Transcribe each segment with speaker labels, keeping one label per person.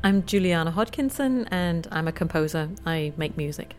Speaker 1: I'm Juliana Hodkinson, and I'm a composer. I make music.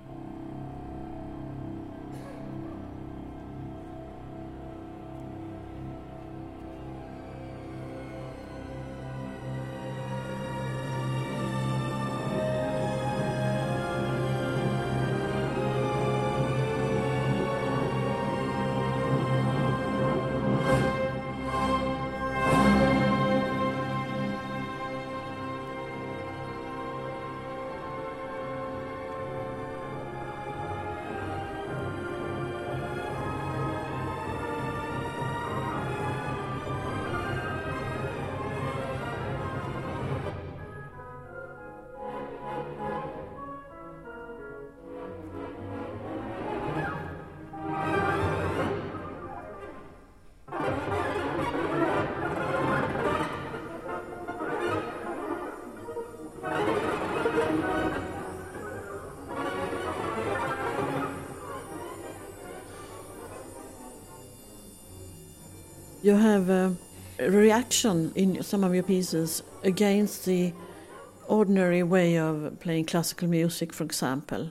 Speaker 2: You have a reaction in some of your pieces against the ordinary way of playing classical music, for example,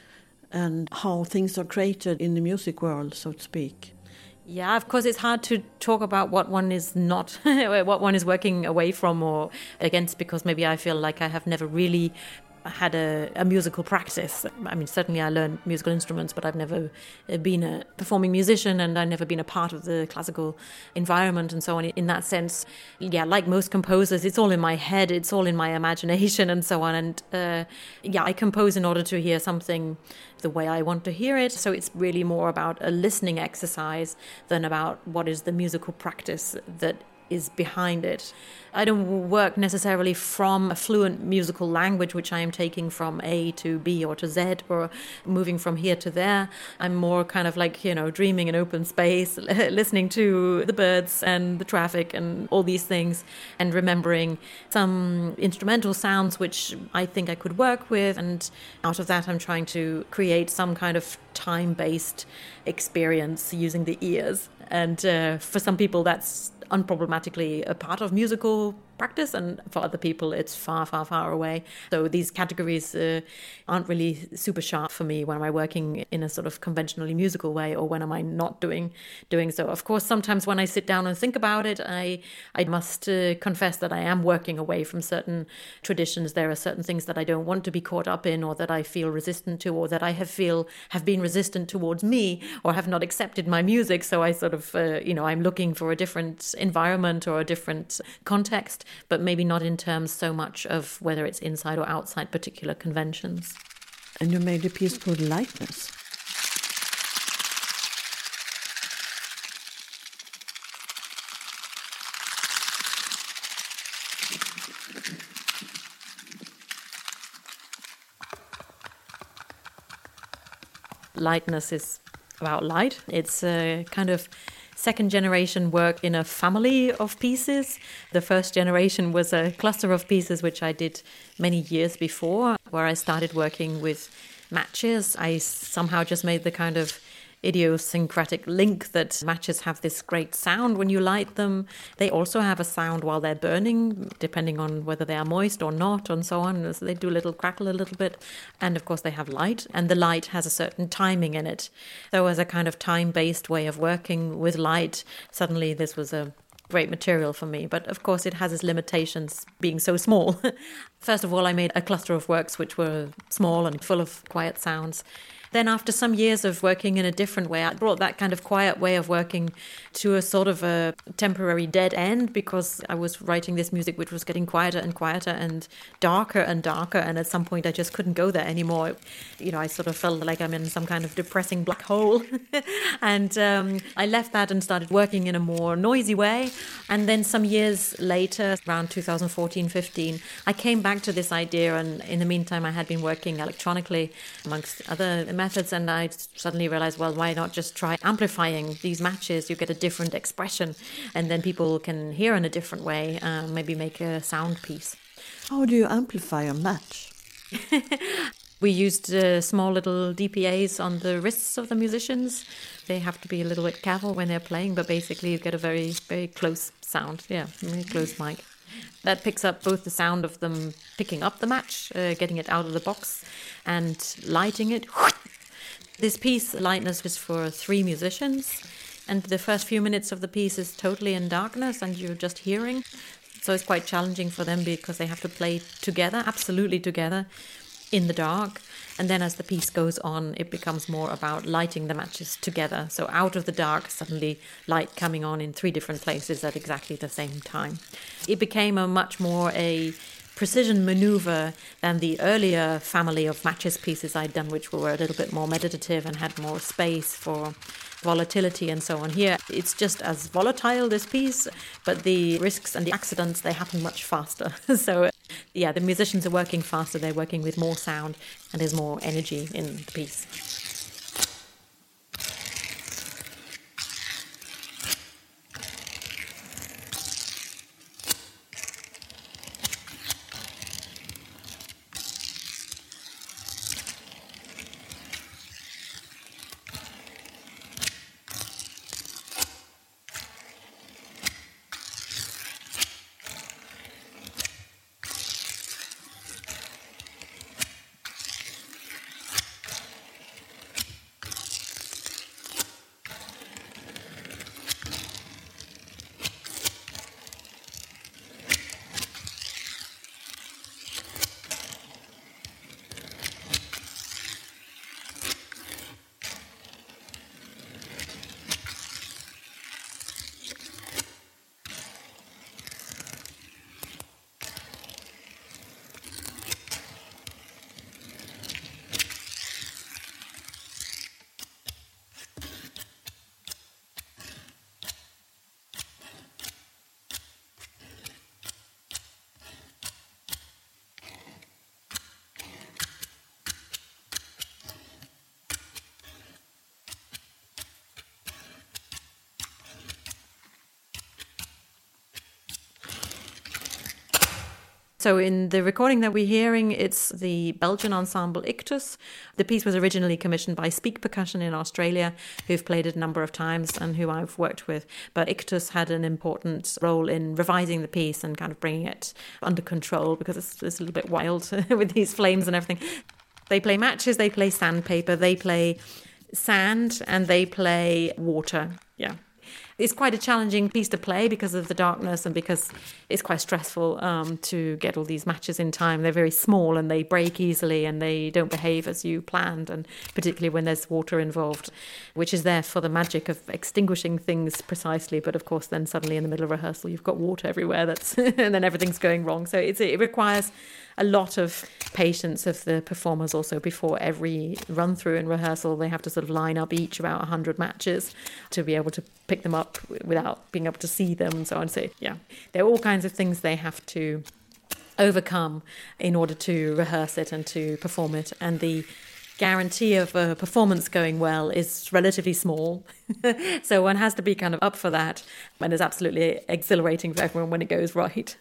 Speaker 2: and how things are created in the music world, so to speak.
Speaker 1: Yeah, of course, it's hard to talk about what one is not, what one is working away from or against, because maybe I feel like I have never really had a musical practice. I mean, certainly I learned musical instruments, but I've never been a performing musician, and I've never been a part of the classical environment and so on. In that sense, yeah, like most composers, it's all in my head, it's all in my imagination and so on. And I compose in order to hear something the way I want to hear it. So it's really more about a listening exercise than about what is the musical practice that is behind it. I don't work necessarily from a fluent musical language, which I am taking from A to B or to Z or moving from here to there. I'm more kind of like, dreaming in open space, listening to the birds and the traffic and all these things, and remembering some instrumental sounds which I think I could work with. And out of that, I'm trying to create some kind of time-based experience using the ears. And for some people, that's unproblematically a part of musical practice, and for other people it's far, far, far away. So these categories aren't really super sharp for me when I'm working in a sort of conventionally musical way, or when am I not doing so. Of course, sometimes when I sit down and think about it, I must confess that I am working away from certain traditions. There are certain things that I don't want to be caught up in, or that I feel resistant to, or that I have been resistant towards me, or have not accepted my music. So I sort of, I'm looking for a different environment or a different context, but maybe not in terms so much of whether it's inside or outside particular conventions.
Speaker 2: And you made a piece called Lightness.
Speaker 1: Lightness is about light. It's a kind of second generation work in a family of pieces. The first generation was a cluster of pieces which I did many years before, where I started working with matches. I somehow just made the kind of idiosyncratic link that matches have this great sound when you light them. They also have a sound while they're burning, depending on whether they are moist or not, and so on. So they do a little crackle a little bit. And of course they have light, and the light has a certain timing in it. So as a kind of time-based way of working with light, suddenly this was a great material for me. But of course it has its limitations being so small. First of all, I made a cluster of works which were small and full of quiet sounds. Then after some years of working in a different way, I brought that kind of quiet way of working to a sort of a temporary dead end, because I was writing this music which was getting quieter and quieter and darker, and at some point I just couldn't go there anymore. I sort of felt like I'm in some kind of depressing black hole. And I left that and started working in a more noisy way. And then some years later, around 2014-15, I came back to this idea, and in the meantime I had been working electronically amongst other methods, and I suddenly realized, well, why not just try amplifying these matches? You get a different expression, and then people can hear in a different way, maybe make a sound piece.
Speaker 2: How do you amplify a match?
Speaker 1: We used small little DPAs on the wrists of the musicians. They have to be a little bit careful when they're playing, but basically you get a very, very close sound. Yeah, very close mic. That picks up both the sound of them picking up the match, getting it out of the box, and lighting it. This piece, Lightness, is for 3 musicians, and the first few minutes of the piece is totally in darkness and you're just hearing. So it's quite challenging for them because they have to play together, absolutely together, in the dark. And then as the piece goes on, it becomes more about lighting the matches together. So out of the dark, suddenly light coming on in 3 different places at exactly the same time. It became a much more a precision maneuver than the earlier family of matches pieces I'd done, which were a little bit more meditative and had more space for volatility and so on. Here, it's just as volatile, this piece, but the risks and the accidents, they happen much faster. So, yeah, the musicians are working faster, they're working with more sound, and there's more energy in the piece. So in the recording that we're hearing, it's the Belgian ensemble Ictus. The piece was originally commissioned by Speak Percussion in Australia, who've played it a number of times and who I've worked with. But Ictus had an important role in revising the piece and kind of bringing it under control because it's a little bit wild with these flames and everything. They play matches, they play sandpaper, they play sand, and they play water. Yeah. It's quite a challenging piece to play because of the darkness and because it's quite stressful to get all these matches in time. They're very small and they break easily and they don't behave as you planned, and particularly when there's water involved, which is there for the magic of extinguishing things precisely. But of course, then suddenly in the middle of rehearsal, you've got water everywhere and then everything's going wrong. So it requires a lot of patience of the performers also. Before every run through in rehearsal, they have to sort of line up each about 100 matches to be able to pick them up without being able to see them and so on. So yeah, there are all kinds of things they have to overcome in order to rehearse it and to perform it. And the guarantee of a performance going well is relatively small. So one has to be kind of up for that, and it's absolutely exhilarating for everyone when it goes right.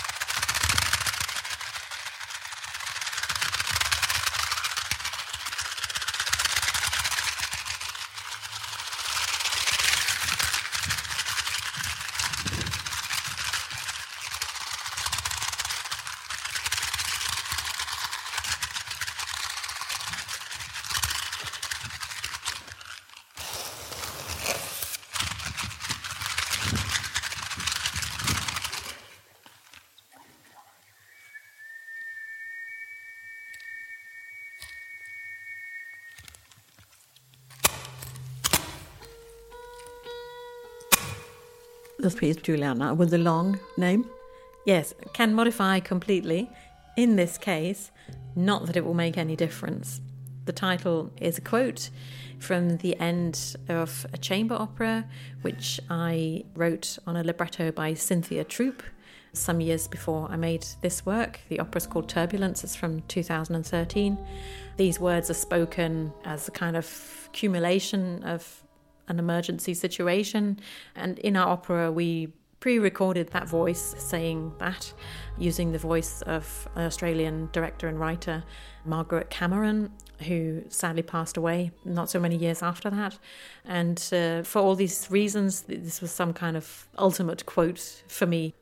Speaker 2: This piece, Juliana, with the long name?
Speaker 1: Yes, can modify completely. In this case, not that it will make any difference. The title is a quote from the end of a chamber opera, which I wrote on a libretto by Cynthia Troop some years before I made this work. The opera's called Turbulence. It's from 2013. These words are spoken as a kind of accumulation of an emergency situation, and in our opera we pre-recorded that voice saying that using the voice of an Australian director and writer, Margaret Cameron, who sadly passed away not so many years after that. And for all these reasons, this was some kind of ultimate quote for me.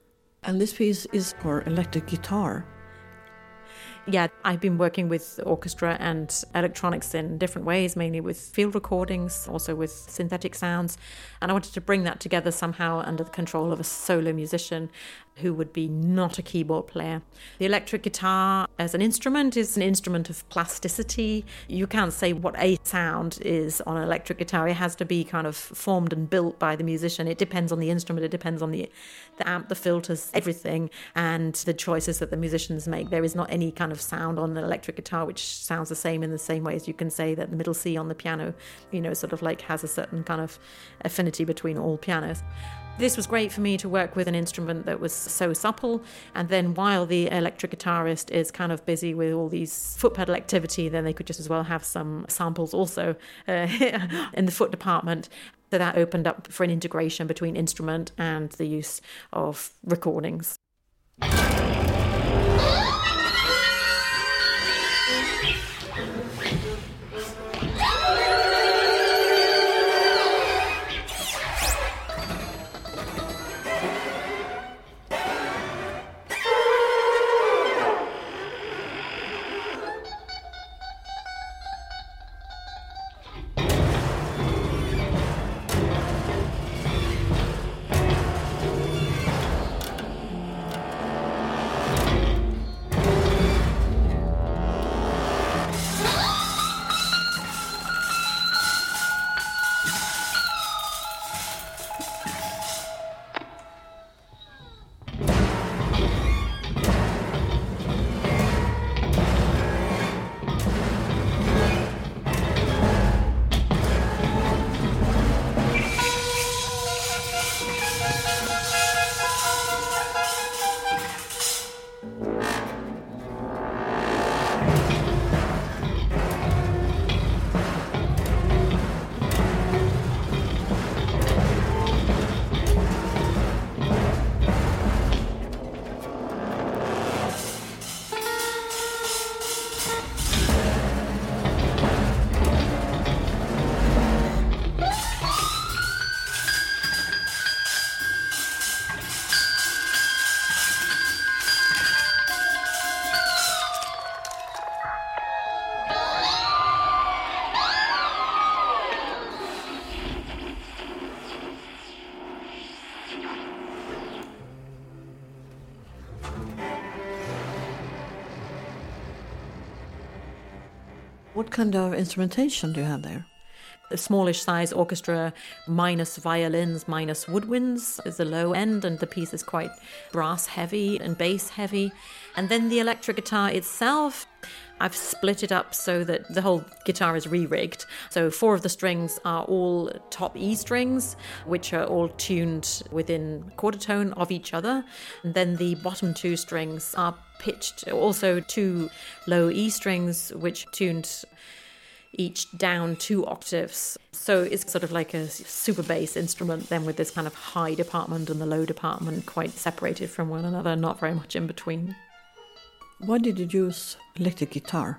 Speaker 2: And this piece is for electric guitar.
Speaker 1: Yeah, I've been working with orchestra and electronics in different ways, mainly with field recordings, also with synthetic sounds. And I wanted to bring that together somehow under the control of a solo musician who would be not a keyboard player. The electric guitar as an instrument is an instrument of plasticity. You can't say what a sound is on an electric guitar. It has to be kind of formed and built by the musician. It depends on the instrument, it depends on the amp, the filters, everything, and the choices that the musicians make. There is not any kind of sound on an electric guitar which sounds the same in the same way as you can say that the middle C on the piano, sort of like has a certain kind of affinity between all pianos. This was great for me to work with an instrument that was so supple, and then while the electric guitarist is kind of busy with all these foot pedal activity, then they could just as well have some samples also in the foot department. So that opened up for an integration between instrument and the use of recordings.
Speaker 2: What kind of instrumentation do you have there?
Speaker 1: A smallish size orchestra minus violins, minus woodwinds is the low end, and the piece is quite brass heavy and bass heavy. And then the electric guitar itself, I've split it up so that the whole guitar is re-rigged. So 4 of the strings are all top E strings, which are all tuned within quarter tone of each other. And then the bottom 2 strings are pitched, also 2 low E strings, which tuned each down 2 octaves. So it's sort of like a super bass instrument then with this kind of high department and the low department quite separated from one another, not very much in between.
Speaker 2: Why did you use electric guitar?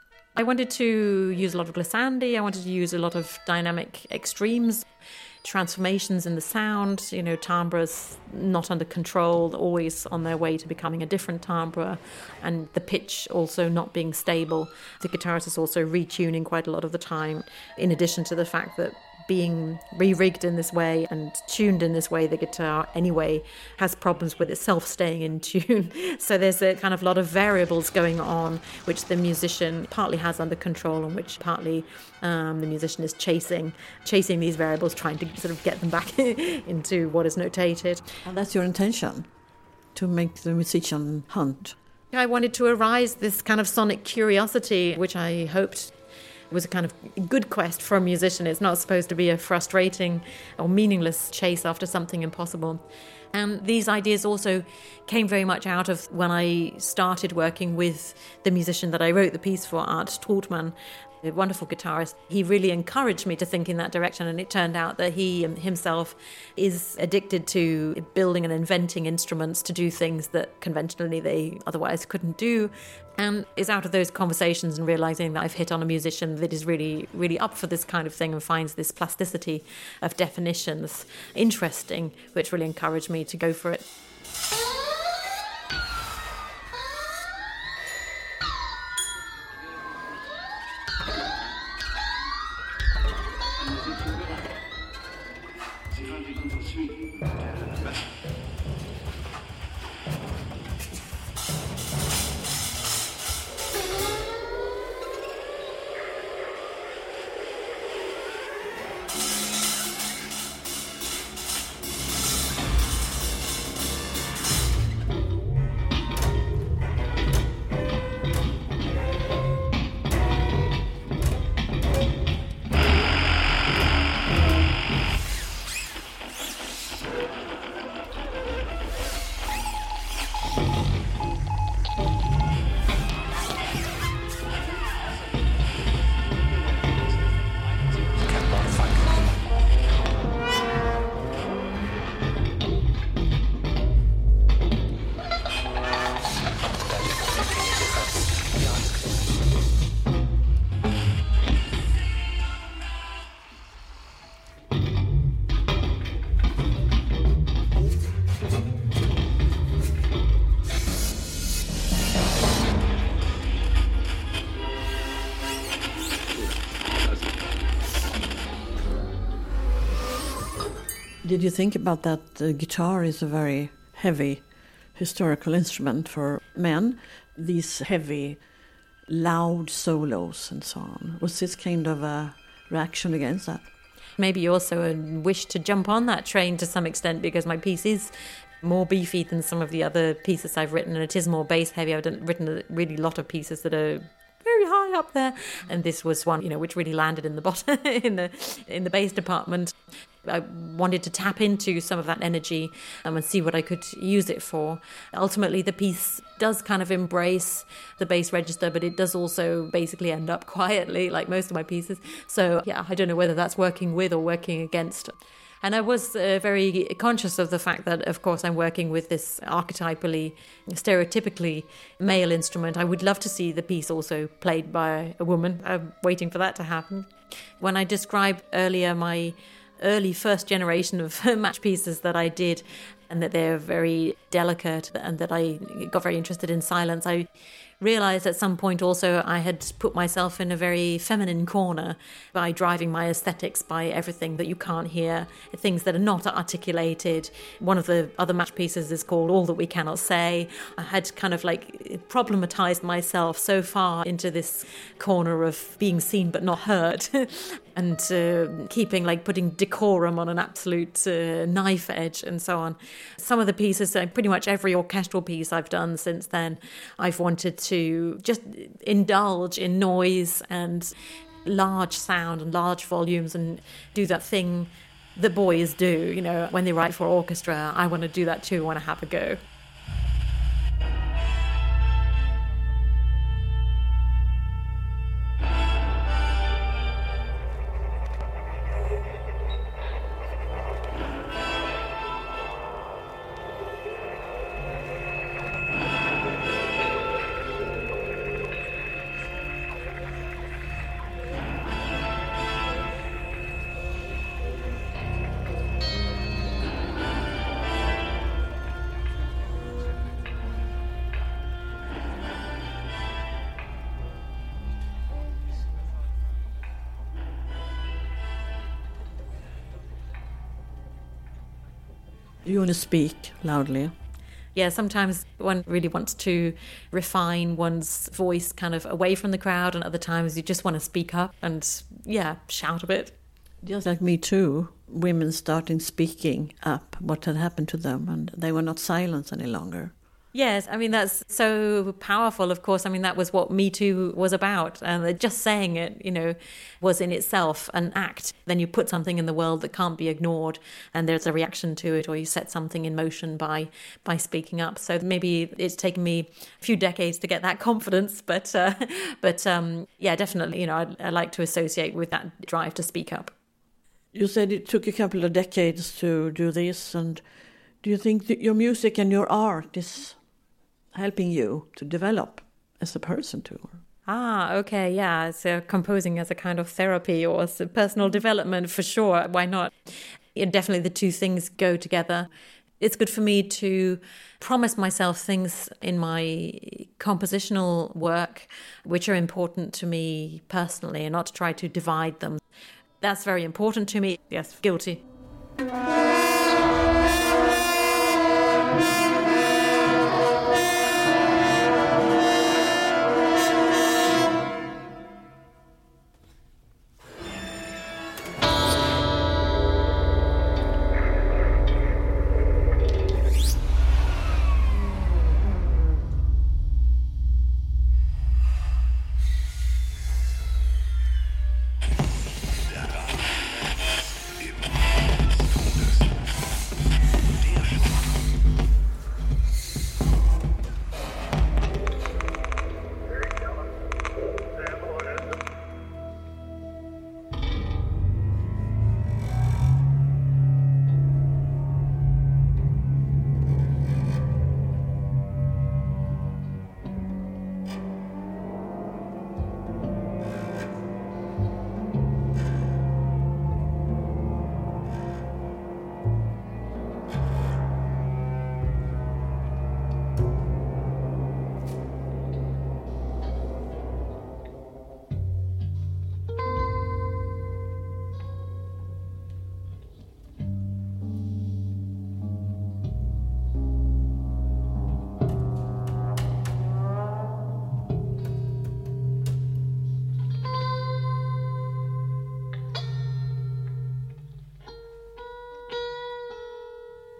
Speaker 1: I wanted to use a lot of glissandi, I wanted to use a lot of dynamic extremes, transformations in the sound, timbres not under control, always on their way to becoming a different timbre, and the pitch also not being stable. The guitarist is also retuning quite a lot of the time, in addition to the fact that being re-rigged in this way and tuned in this way, the guitar anyway has problems with itself staying in tune. So there's a kind of lot of variables going on, which the musician partly has under control and which partly the musician is chasing these variables, trying to sort of get them back into what is notated.
Speaker 2: And that's your intention, to make the musician hunt.
Speaker 1: I wanted to arouse this kind of sonic curiosity, which I hoped was a kind of good quest for a musician. It's not supposed to be a frustrating or meaningless chase after something impossible. And these ideas also came very much out of when I started working with the musician that I wrote the piece for, Art Tortman, a wonderful guitarist. He really encouraged me to think in that direction, and it turned out that he himself is addicted to building and inventing instruments to do things that conventionally they otherwise couldn't do, and is out of those conversations and realizing that I've hit on a musician that is really, really up for this kind of thing and finds this plasticity of definitions interesting, which really encouraged me to go for it.
Speaker 2: Did you think about that the guitar is a very heavy historical instrument for men? These heavy, loud solos and so on. Was this kind of a reaction against that?
Speaker 1: Maybe also a wish to jump on that train to some extent, because my piece is more beefy than some of the other pieces I've written, and it is more bass heavy. I've written a really lot of pieces that are very high up there, and this was one, which really landed in the bottom in the bass department. I wanted to tap into some of that energy and see what I could use it for. Ultimately, the piece does kind of embrace the bass register, but it does also basically end up quietly, like most of my pieces. So, yeah, I don't know whether that's working with or working against. And I was very conscious of the fact that, of course, I'm working with this archetypally, stereotypically male instrument. I would love to see the piece also played by a woman. I'm waiting for that to happen. When I described earlier my early first generation of match pieces that I did, and that they're very delicate and that I got very interested in silence, I realized at some point also I had put myself in a very feminine corner by driving my aesthetics by everything that you can't hear, things that are not articulated. One of the other match pieces is called All That We Cannot Say. I had kind of like problematized myself so far into this corner of being seen but not heard and putting decorum on an absolute knife edge and so on. Some of the pieces, pretty much every orchestral piece I've done since then, I've wanted to just indulge in noise and large sound and large volumes and do that thing that boys do, when they write for orchestra. I want to do that too, I want to have a go.
Speaker 2: You want to speak loudly?
Speaker 1: Yeah, sometimes one really wants to refine one's voice kind of away from the crowd, and other times you just want to speak up and, shout a bit.
Speaker 2: Just like Me Too, women starting speaking up what had happened to them, and they were not silenced any longer.
Speaker 1: Yes, I mean, that's so powerful, of course. I mean, that was what Me Too was about. And just saying it, was in itself an act. Then you put something in the world that can't be ignored, and there's a reaction to it, or you set something in motion by speaking up. So maybe it's taken me a few decades to get that confidence. But definitely, I like to associate with that drive to speak up.
Speaker 2: You said it took a couple of decades to do this. And do you think that your music and your art is helping you to develop as a person too?
Speaker 1: Okay, yeah. So composing as a kind of therapy or as a personal development, for sure. Why not? Definitely the two things go together. It's good for me to promise myself things in my compositional work which are important to me personally, and not to try to divide them. That's very important to me. Yes, guilty.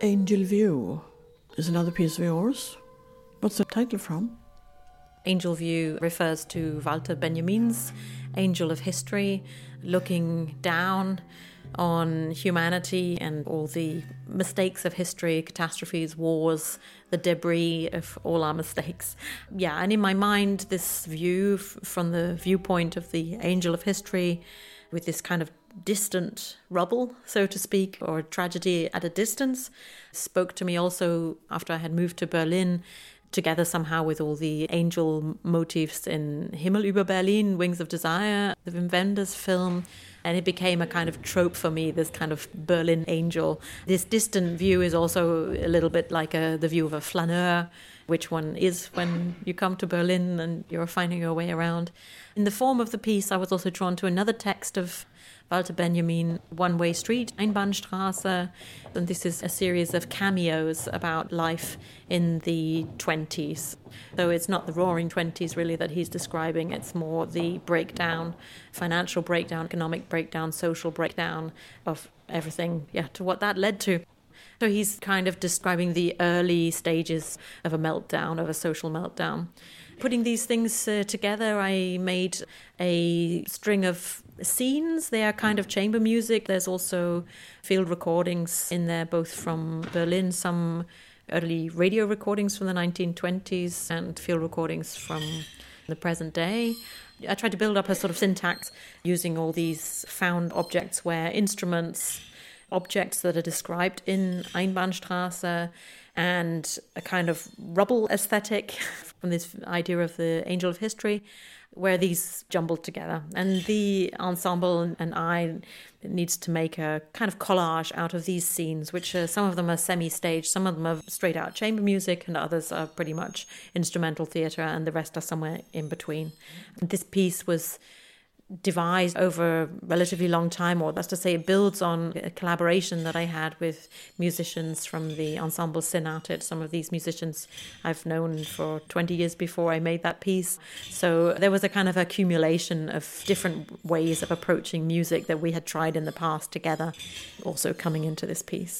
Speaker 2: Angel View is another piece of yours. What's the title from?
Speaker 1: Angel View refers to Walter Benjamin's Angel of History, looking down on humanity and all the mistakes of history, catastrophes, wars, the debris of all our mistakes. Yeah, and in my mind, this view from the viewpoint of the Angel of History, with this kind of distant rubble, so to speak, or tragedy at a distance, spoke to me also after I had moved to Berlin, together somehow with all the angel motifs in Himmel über Berlin, Wings of Desire, the Wim Wenders film. And it became a kind of trope for me, this kind of Berlin angel. This distant view is also a little bit like the view of a flaneur, which one is when you come to Berlin and you're finding your way around. In the form of the piece, I was also drawn to another text of Walter Benjamin, One Way Street, Einbahnstraße. And this is a series of cameos about life in the 20s. So it's not the roaring 20s really that he's describing, it's more the breakdown, financial breakdown, economic breakdown, social breakdown of everything, to what that led to. So he's kind of describing the early stages of a meltdown, of a social meltdown. Putting these things together, I made a string of scenes. They are kind of chamber music. There's also field recordings in there, both from Berlin, some early radio recordings from the 1920s and field recordings from the present day. I tried to build up a sort of syntax using all these found objects where instruments, objects that are described in Einbahnstraße, and a kind of rubble aesthetic from this idea of the Angel of History, where these jumbled together. And the ensemble and I needs to make a kind of collage out of these scenes, which some of them are semi-staged, some of them are straight out chamber music, and others are pretty much instrumental theatre, and the rest are somewhere in between. And this piece was devised over a relatively long time, or that's to say it builds on a collaboration that I had with musicians from the ensemble Senatet. Some of these musicians I've known for 20 years before I made that piece. So there was a kind of accumulation of different ways of approaching music that we had tried in the past together, also coming into this piece.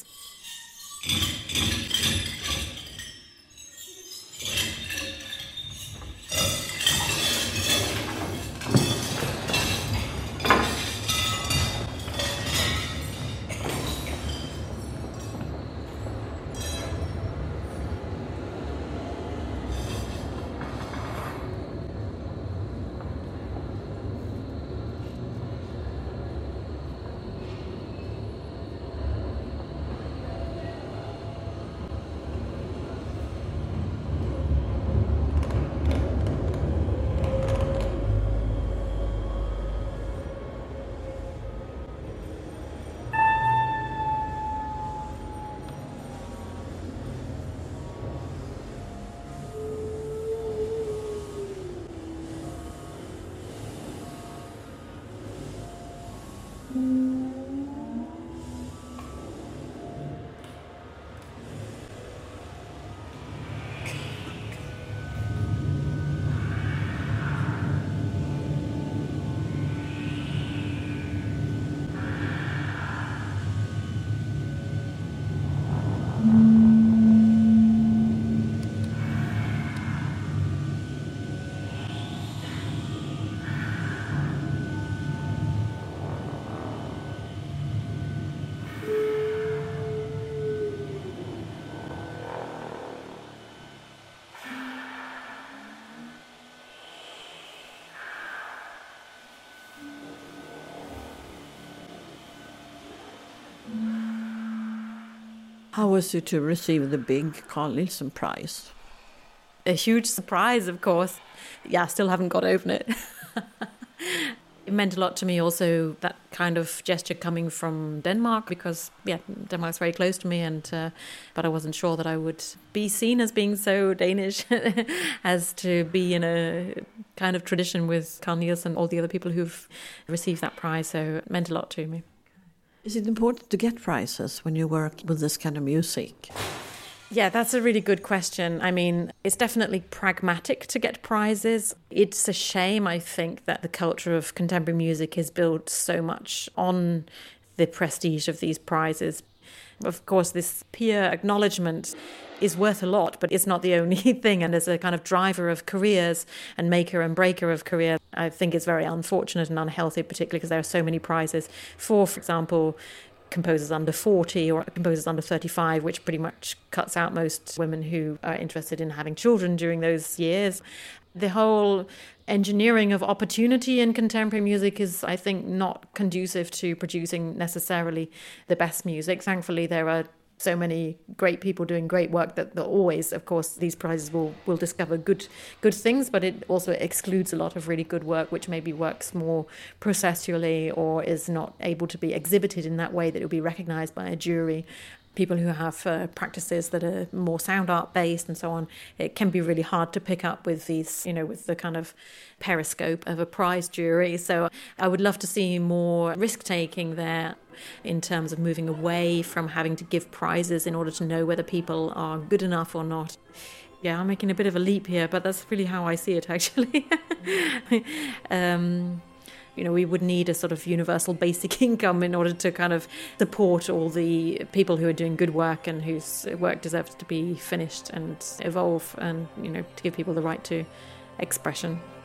Speaker 2: How was it to receive the big Carl Nielsen Prize?
Speaker 1: A huge surprise, of course. Yeah, I still haven't got over it. It meant a lot to me also, that kind of gesture coming from Denmark, because, Denmark's very close to me, but I wasn't sure that I would be seen as being so Danish as to be in a kind of tradition with Carl Nielsen and all the other people who've received that prize, so it meant a lot to me.
Speaker 2: Is it important to get prizes when you work with this kind of music?
Speaker 1: Yeah, that's a really good question. I mean, it's definitely pragmatic to get prizes. It's a shame, I think, that the culture of contemporary music is built so much on the prestige of these prizes. Of course, this peer acknowledgement is worth a lot, but it's not the only thing. And as a kind of driver of careers and maker and breaker of career, I think it's very unfortunate and unhealthy, particularly because there are so many prizes for example, composers under 40 or composers under 35, which pretty much cuts out most women who are interested in having children during those years. The whole engineering of opportunity in contemporary music is, I think, not conducive to producing necessarily the best music. Thankfully, there are so many great people doing great work that always, of course, these prizes will discover good things, but it also excludes a lot of really good work which maybe works more processually or is not able to be exhibited in that way that it will be recognized by a jury. People who have practices that are more sound art based and so on, it can be really hard to pick up with these, with the kind of periscope of a prize jury. So I would love to see more risk taking there in terms of moving away from having to give prizes in order to know whether people are good enough or not. Yeah, I'm making a bit of a leap here, but that's really how I see it, actually. We would need a sort of universal basic income in order to kind of support all the people who are doing good work and whose work deserves to be finished and evolve and, to give people the right to expression.